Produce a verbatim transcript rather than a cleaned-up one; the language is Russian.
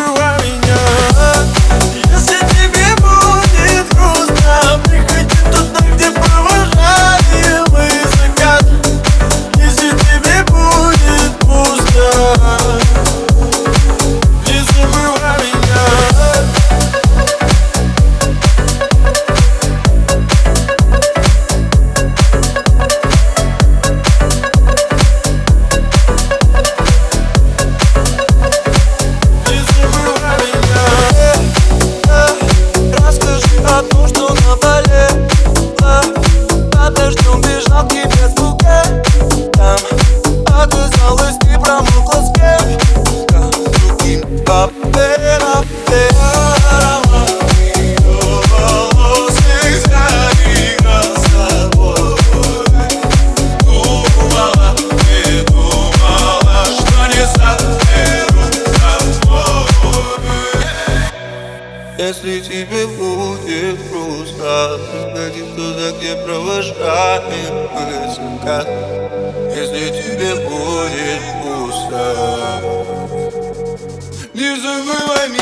забывай меня. Если тебе будет грустно, приходи туда, где провожали мы закат. Если тебе будет пусто, не забывай меня. Подождем, бежал к тебе с букет. Там оказалось, ты промокла с кем-то другим. Папе, папе, аромат ее волос всегда играл с тобой. Думала, ты думала, что не заберу с тобой. Если тебе будет грустно, приходи туда, где провожаем мы закат. Если тебе будет пусто, не забывай меня.